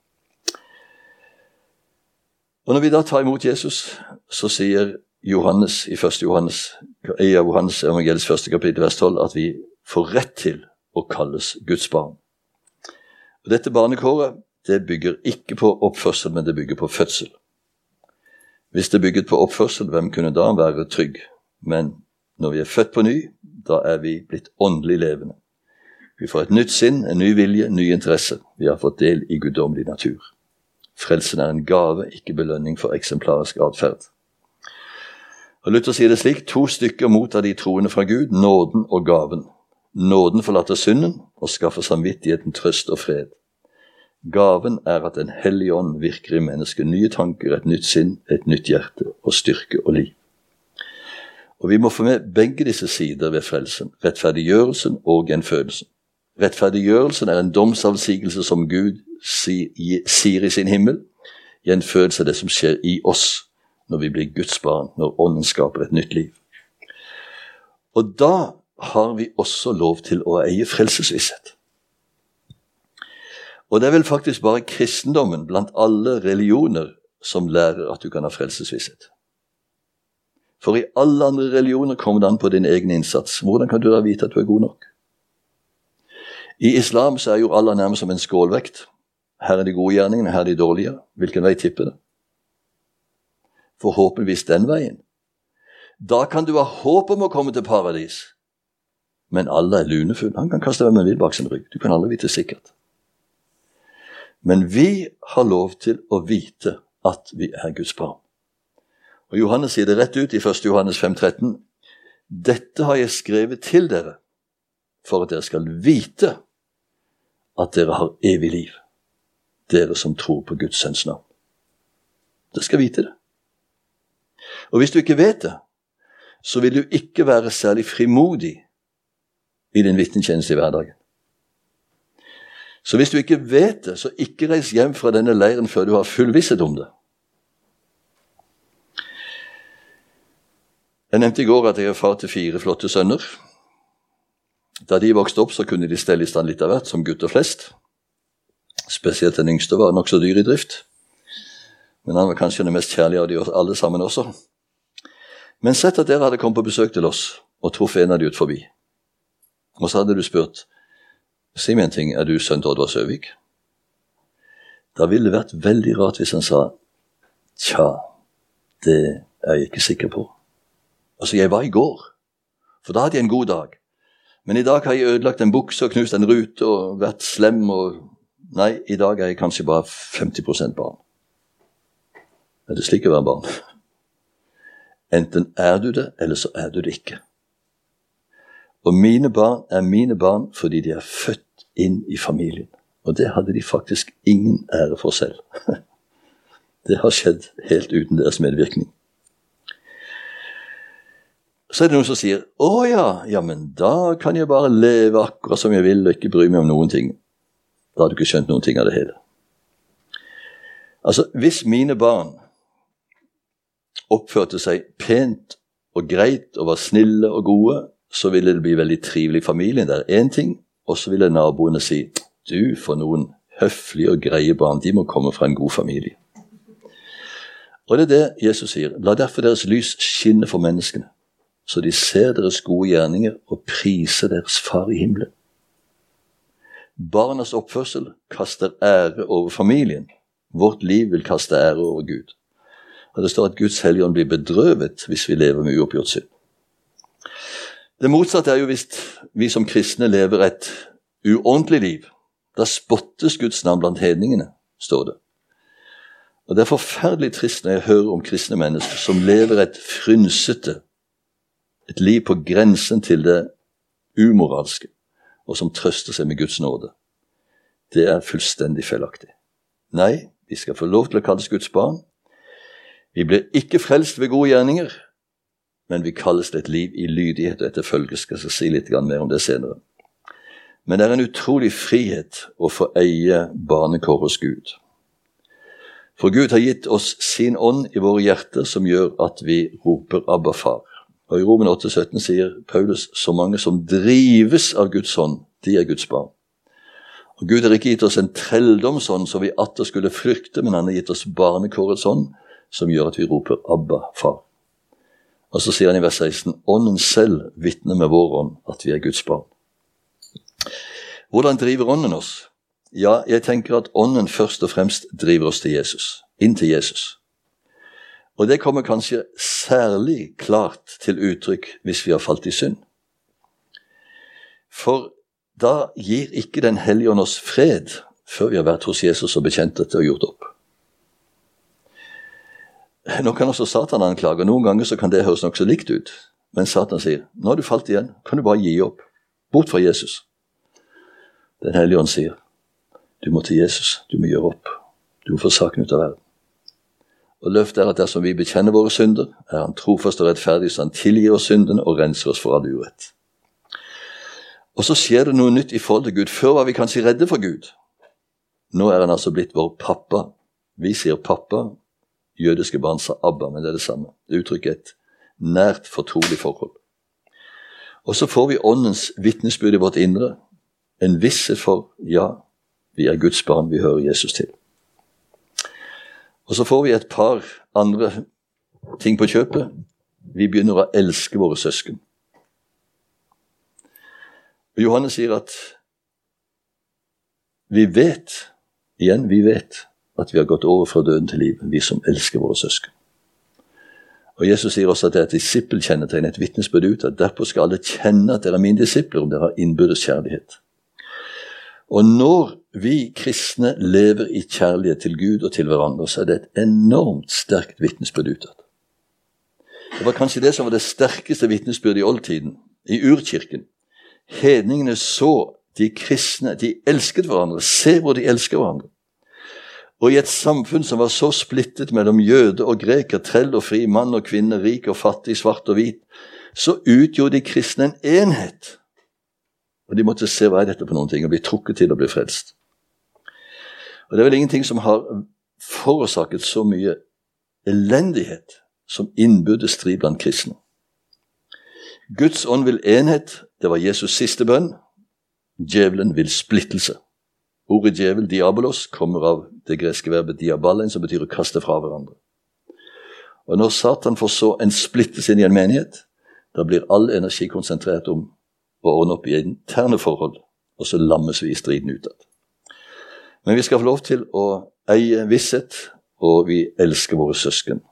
Og når vi da tar imot Jesus, så sier Johannes i Johannes evangeliets første kapittel, vers 12, at vi får rett til å kalles Guds barn. Og dette barnekåret, det bygger ikke på oppførsel, men det bygger på fødsel. Hvis det bygget på oppførsel, hvem kunne da være trygg? Men når vi er født på ny, da er vi blitt åndelig levende. Vi får et nytt sinn, en ny vilje, en ny interesse. Vi har fått del i guddommelig natur. Frelsen er en gave, ikke belønning for eksemplarisk adferd. Og Luther sier det slik: 2 stykker mottar de troende fra Gud, nåden og gaven. Nåden forlater synden og skaffer samvittigheten trøst og fred. Gaven er at Den hellige ånd virker i mennesket nye tanker, et nytt sinn, et nytt hjerte og styrke og liv. Og vi må få med begge disse sider ved frelsen, rettferdiggjørelsen og gjenfødelsen. Rettferdiggjørelsen er en domsavsigelse som Gud sier i sin himmel. Gjenfødelse er det som skjer i oss når vi blir Guds barn, når ånden skaper et nytt liv. Og da har vi også lov til å eie frelsesvisshet. Og det er vel faktisk bare kristendommen blant alle religioner som lærer at du kan ha frelsesvisshet. For i alle andre religioner kommer det an på din egen innsats. Hvordan kan du da vite at du er god nok? I islam så er jo Allah nærmest som en skålvekt. Her er de gode gjerningene, her er de dårlige. Hvilken vei tipper det? Forhåpentligvis den veien. Da kan du ha håp om å komme til paradis. Men Allah er lunefull. Han kan kaste hvem han vil bak sin rygg. Du kan aldri vite sikkert. Men vi har lov til å vite at vi er Guds barn. Og Johannes sier det rett ut i 1. Johannes 5,13. Dette har jeg skrevet til dere, for at dere skal vite at dere har evig liv. Dere som tror på Guds sønns navn. Dere skal vite det. Og hvis du ikke vet det, så vil du ikke være særlig frimodig i din vitnetjeneste i hverdagen. Så hvis du ikke vet det, så ikke reis hjem fra denne leiren før du har full visshet om det. Jeg nevnte i går at jeg er far til 4 flotte sønner. Da de vokste opp, så kunne de stelle i stand litt av hvert, som gutter flest. Spesielt den yngste var nok så dyr i drift. Men han var kanskje den mest kjærlige av de alle sammen også. Men sett at dere hadde kommet på besøk til oss, og truffet en av de ut forbi. Og så hadde du spurt, si meg en ting, er du sønn til Oddvar Søvik? Da ville det vært veldig rart hvis han sa, tja, det er jeg ikke sikker på. Altså, jeg var i går, for da hadde jeg en god dag. Men i dag har jeg ødelagt en bukse og knust en rute og vært slem og... Nei, i dag er jeg kanskje bare 50% barn. Er det slik å være barn? Enten er du det, eller så er du det ikke. Og mine barn er mine barn fordi de er født inn i familien. Og det hadde de faktisk ingen ære for selv. Det har skjedd helt uten deres medvirkning. Så er det noen som sier, ja, men da kan jeg bare leve akkurat som jeg vil og ikke bry meg om noen ting. Da har du ikke skjønt noen ting av det hele. Altså, hvis mine barn oppførte seg pent og greit og var snille og gode, så ville det bli veldig trivelig i familien. Det er en ting, og så ville naboene si, du får noen høflige og greie barn, de må komme fra en god familie. Og det er det Jesus sier, la derfor deres lys skinne for menneskene, så de ser deres gode gjerninger og priser deres far i himmelen. Barnas oppførsel kaster ære over familien. Vårt liv vil kaste ære over Gud. Og det står at Guds hellige ånd blir bedrøvet hvis vi lever med uoppgjort synd. Det motsatte er jo hvis vi som kristne lever et uordentlig liv. Da spottes Guds navn blant hedningene, står det. Og det er forferdelig trist når jeg hører om kristne mennesker som lever et frynsete, et liv på grensen til det umoralske, og som trøster seg med Guds nåde. Det er fullstendig feilaktig. Nei, vi skal få lov til å kalles Guds barn. Vi blir ikke frelst ved gode gjerninger, men vi kalles til et liv i lydighet og etterfølgelse. Skal jeg si litt mer om det senere. Men det er en utrolig frihet å få eie barnekår hos Gud. For Gud har gitt oss sin ånd i våre hjerter som gjør at vi roper Abba far. Og i Romen 8,17 sier Paulus, så mange som drives av Guds ånd, de er Guds barn. Og Gud har ikke gitt oss en trelldomsånd så vi atter skulle frykte, men han har gitt oss barnekårets ånd, som gjør at vi roper Abba, far. Og så sier han i vers 16, ånden selv vitner med vår ånd at vi er Guds barn. Hvordan driver ånden oss? Ja, jeg tenker at ånden først og fremst driver oss til Jesus, inn til Jesus. Og det kommer kanskje særlig klart til uttrykk hvis vi har falt i synd. For da gir ikke den hellige ånd oss fred før vi har vært hos Jesus og bekjent dette og gjort opp. Nå kan også Satan anklage, og noen ganger så kan det høres nok så likt ut. Men Satan sier, nå har du falt igjen, kan du bare gi opp, bort fra Jesus. Den hellige ånd sier, du må til Jesus, du må gjøre opp, du må få saken ut av verden. Og løftet er at dersom vi bekjenner våre synder, er han trofast og rettferdig, så han tilgir oss syndene og renser oss for all urett. Og så skjer det noe nytt i forhold til Gud. Før var vi kanskje redde for Gud. Nå er han altså blitt vår pappa. Vi sier pappa, jødiske barn sa Abba, men det er det samme. Det uttrykker et nært, fortrolig forhold. Og så får vi åndens vitnesbyrd i vårt indre. En visshet for, ja, vi er Guds barn, vi hører Jesus til. Og så får vi et par andre ting på kjøpet. Vi begynner å elske våre søsken. Og Johannes sier at vi vet at vi har gått over fra døden til liv, vi som elsker våre søsken. Og Jesus sier også at det er et disippelkjennetegn, et vitnesbyrd ut, at derfor skal alle kjenne at dere er mine disipler, om dere har innbyrdes kjærlighet. Og når vi kristne lever i kjærlighet til Gud og til hverandre, så er det et enormt sterkt vitnesbyrd utad. Det var kanskje det som var det sterkeste vitnesbyrdet i oldtiden, i urkirken. Hedningene så de kristne, de elsket hverandre, se hvor de elsker hverandre. Og i et samfunn som var så splittet mellom jøde og greker, trell og fri, mann og kvinne, rik og fattig, svart og hvit, så utgjorde de kristne en enhet. Og de måtte se hva er dette på noen ting, og bli trukket til å bli frelst. Og det er vel ingenting som har forårsaket så mye elendighet som innbyrdes strid blant kristne. Guds ånd vil enhet, det var Jesus siste bønn. Djevelen vil splittelse. Ordet djevel, diabolos, kommer av det greske verbet diaballein, som betyr å kaste fra hverandre. Og når Satan får så en splittelse inn i en menighet, da blir all energi konsentrert om å ordne opp i interne forhold, og så lammes vi i striden utad. Men vi skal få lov til å eie visshet, og vi elsker våre søsken.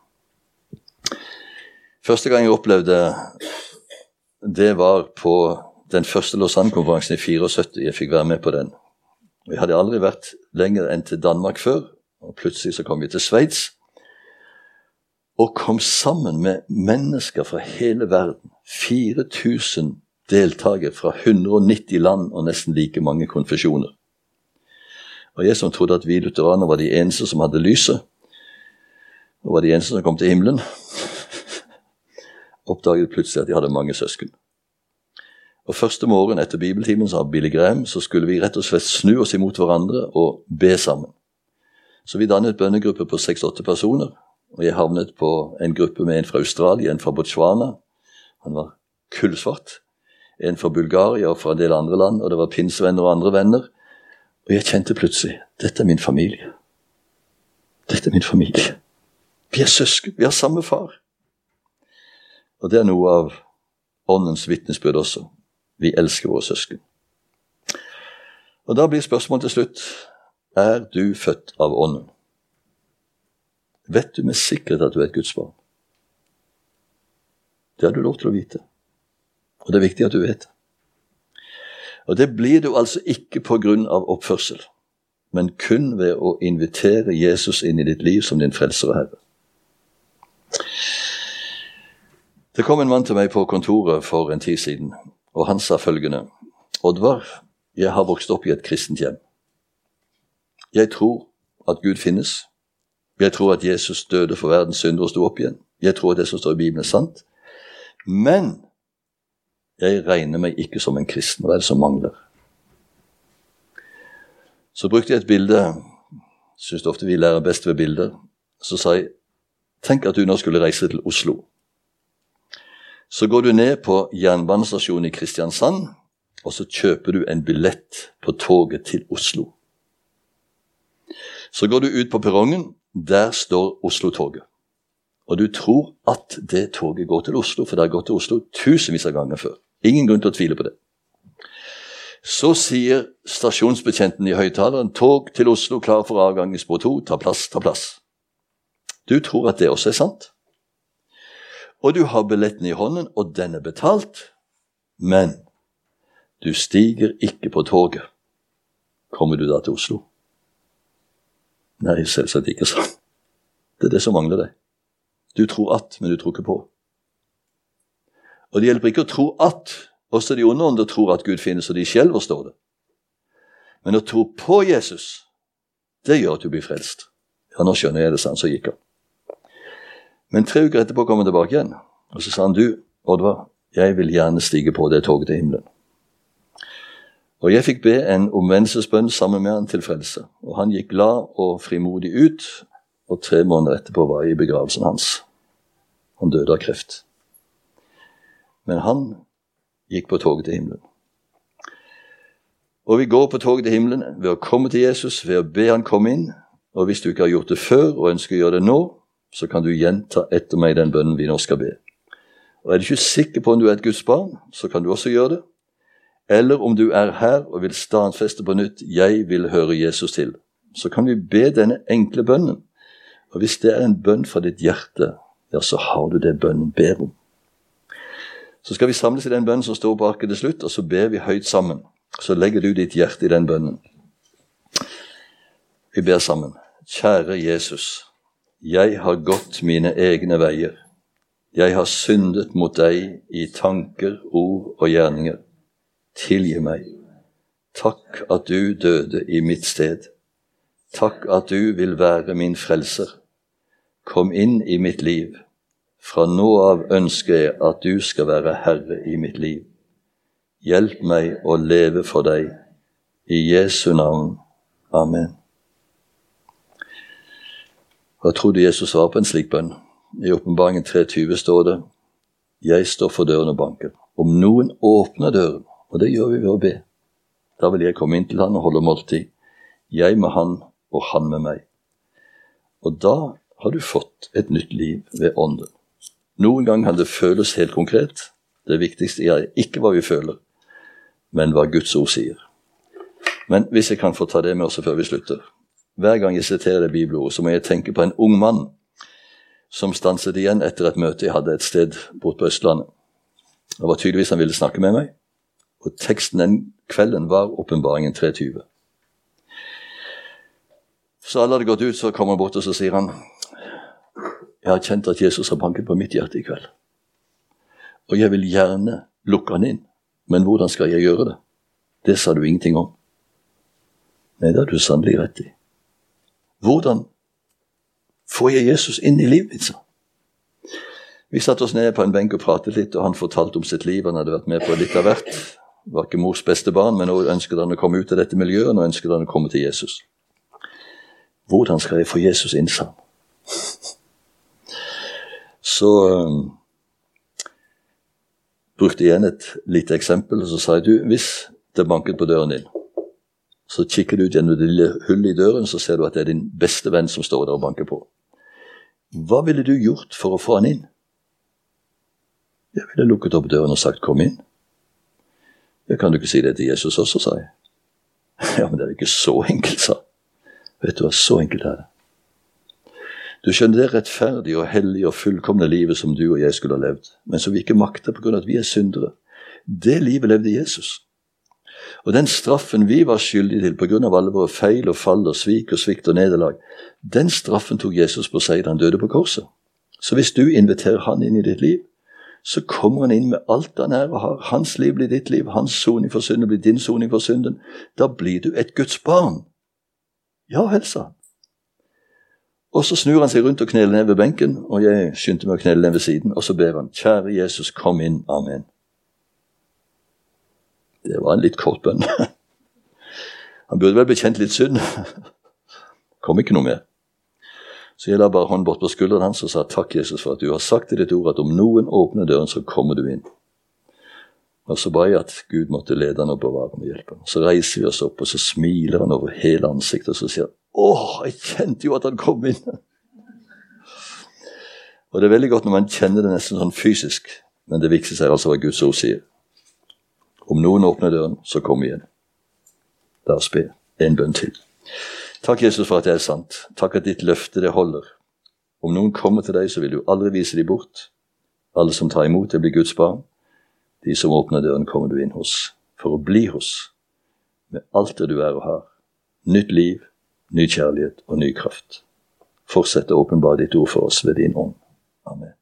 Første gang jeg opplevde det var på den første Lausanne-konferansen i 74. Jeg fikk være med på den. Vi hadde aldri vært lenger enn til Danmark før, og plutselig så kom vi til Sveits, og kom sammen med mennesker fra hele verden. 4000 deltakere fra 190 land og nesten like mange konfesjoner. Og jeg som trodde at vi lutheraner var de eneste som hadde lyset, og var de eneste som kom til himmelen, oppdaget plutselig at de hadde mange søsken. Og første morgen etter bibeltimen, sa Billy Graham, så skulle vi rett og slett snu oss imot hverandre og be sammen. Så vi dannet et bønnegruppe på 6-8 personer, og jeg havnet på en gruppe med en fra Australia, en fra Botswana, han var kullsvart, en fra Bulgaria og fra en del andre land, og det var pinsevenner og andre venner, og jeg kjente plutselig, dette er min familie. Dette er min familie. Vi er søsken, vi har samme far. Og det er noe av åndens vitnesbyrd også. Vi elsker våre søsken. Og da blir spørsmålet til slutt, er du født av ånden? Vet du med sikkerhet at du er et Guds barn? Det har du lov til å vite. Og det er viktig at du vet det. Og det blir du altså ikke på grunn av oppførsel, men kun ved å invitere Jesus inn i ditt liv som din frelser og herre. Det kom en mann til meg på kontoret for en tid siden, og han sa følgende: Oddvar, jeg har vokst opp i et kristent hjem. Jeg tror at Gud finnes. Jeg tror at Jesus døde for verdens synder og sto opp igjen. Jeg tror at det som står i Bibelen er sant. Men jeg regner meg ikke som en kristen. Hva er det som mangler? Så brukte jeg et bilde. Synes ofte vi lærer best ved bilder. Så sa jeg, tenk at du nå skulle reise til Oslo. Så går du ned på jernbanestasjonen i Kristiansand, og så kjøper du en billett på toget til Oslo. Så går du ut på perrongen, der står Oslo-toget. Og du tror at det toget går til Oslo, for det har gått til Oslo tusenvis av ganger før. Ingen grunn til å tvile på det. Så sier stasjonsbetjenten i høyttaleren, tog til Oslo, klar for avgang i spor 2, ta plass, ta plass. Du tror at det også er sant. Og du har billetten i hånden, og den er betalt, men du stiger ikke på toget. Kommer du da til Oslo? Nei, selvsagt ikke sånn. Det er det som mangler deg. Du tror at, men du tror ikke på. Og det hjelper ikke å tro at. Også de onde ånder tror at Gud finnes, og de skjelver, står det. Men å tro på Jesus, det gjør at du blir frelst. Ja, nå skjønner jeg det, sant, så gikk han. Men 3 uker etterpå kom han tilbake igjen, og så sa han, du, Oddvar, jeg vil gjerne stige på det toget til himmelen. Og jeg fikk be en omvendelsesbønn sammen med han til frelse, og han gikk glad og frimodig ut, og 3 måneder etterpå var jeg i begravelsen hans. Han døde av kreft. Men han gikk på toget til himmelen. Og vi går på toget til himmelen ved å komme til Jesus, ved å be han komme inn, og hvis du ikke har gjort det før og ønsker å gjøre det nå, så kan du gjenta etter meg den bønnen vi nå skal be. Og er du ikke sikker på om du er et Guds barn, så kan du også gjøre det. Eller om du er her og vil stadfeste på nytt, jeg vil høre Jesus til, så kan vi be denne enkle bønnen. Og hvis det er en bønn fra ditt hjerte, ja, så har du det bønnen ber om. Så skal vi samles i den bønnen som står på arket til slutt, og så ber vi høyt sammen. Så legger du ditt hjerte i den bønnen. Vi ber sammen. Kjære Jesus, jeg har gått mine egne veier. Jeg har syndet mot deg i tanker, ord og gjerninger. Tilgi meg. Takk at du døde i mitt sted. Takk at du vil være min frelser. Kom inn i mitt liv. Fra nå av ønsker jeg at du skal være herre i mitt liv. Hjelp meg å leve for deg. I Jesu navn. Amen. Hva tror du Jesus svarer på en slik bønn? I Åpenbaringen 3:20 står det, jeg står for døren og banker. Om noen åpner døren, og det gjør vi ved å be, da vil jeg komme inn til han og holde måltid. Jeg med han, og han med meg. Og da har du fått et nytt liv ved ånden. Noen gang kan det føles helt konkret. Det viktigste er ikke hva vi føler, men hva Guds ord sier. Men hvis jeg kan få ta det med også før vi slutter. Hver gang jeg siterer det bibelordet, så må jeg tenke på en ung mann som stanset igjen etter et møte jeg hadde et sted bort på Østlandet. Det var tydeligvis han ville snakke med meg, og teksten den kvelden var Åpenbaringen 3:20. Så alle hadde gått ut, så kommer han bort og så sier han, jeg har kjent at Jesus har banket på mitt hjerte i kveld. Og jeg vil gjerne lukke han inn, men hvordan skal jeg gjøre det? Det sa du ingenting om. Nei, det har du sannelig rett i. Hvordan får jeg Jesus inn i livet mitt? Vi satt oss ned på en benk og pratet litt, og han fortalte om sitt liv. Han hadde vært med på litt av hvert. Det var ikke mors beste barn, men nå ønsket han å komme ut av dette miljøet, og nå ønsket han å komme til Jesus. Hvordan skal jeg få Jesus inn, sa han. Så brukte jeg igjen et lite eksempel, og så sa jeg, du, hvis det banket på døren din, så kikker du ut gjennom det lille hullet i døren, så ser du at det er din beste venn som står der og banker på. Hva ville du gjort for å få han inn? Jeg ville lukket opp døren og sagt, kom inn. Jeg kan du ikke si det til Jesus også, sa jeg. Ja, men det er ikke så enkelt, sa. Vet du hva, så enkelt er det. Du skjønner det rettferdige og hellige og fullkomne livet som du og jeg skulle ha levd, men som vi ikke makter på grunn av at vi er syndere. Det livet levde Jesus. Og den straffen vi var skyldige til på grunn av alle våre feil og fall og svik og svikt og nederlag, den straffen tok Jesus på seg da han døde på korset. Så hvis du inviterer han inn i ditt liv, så kommer han inn med alt han er og har. Hans liv blir ditt liv, hans soning for synden blir din soning for synden. Da blir du et Guds barn. Ja, helsa. Og så snur han seg rundt og kneler ned ved benken, og jeg skyndte meg å knele ned ved siden, og så ber han, kjære Jesus, kom inn, amen. Det var en litt kort bønn. Han burde vel bekjent litt synd. Kom ikke noe mer. Så jeg la bare hånden bort på skulderen hans og sa, takk Jesus for at du har sagt i ditt ord at om noen åpner døren, så kommer du inn. Og så ba jeg at Gud måtte lede han og bevare ham og hjelpe ham. Så reiser vi oss opp, og så smiler han over hele ansiktet, og så sier han, jeg kjente jo at han kom inn. Og det er veldig godt når man kjenner det nesten sånn fysisk, men det viktigste er altså hva Guds ord sier. Om noen åpner døren, så kom igjen. La oss be en bønn til. Takk Jesus for at det er sant. Takk at ditt løfte det holder. Om noen kommer til deg, så vil du aldri vise dem bort. Alle som tar imot det blir Guds barn. De som åpner døren kommer du inn hos, for å bli hos, med alt det du er og har. Nytt liv, ny kjærlighet og ny kraft. Fortsett å åpenbare ditt ord for oss ved din ånd. Amen.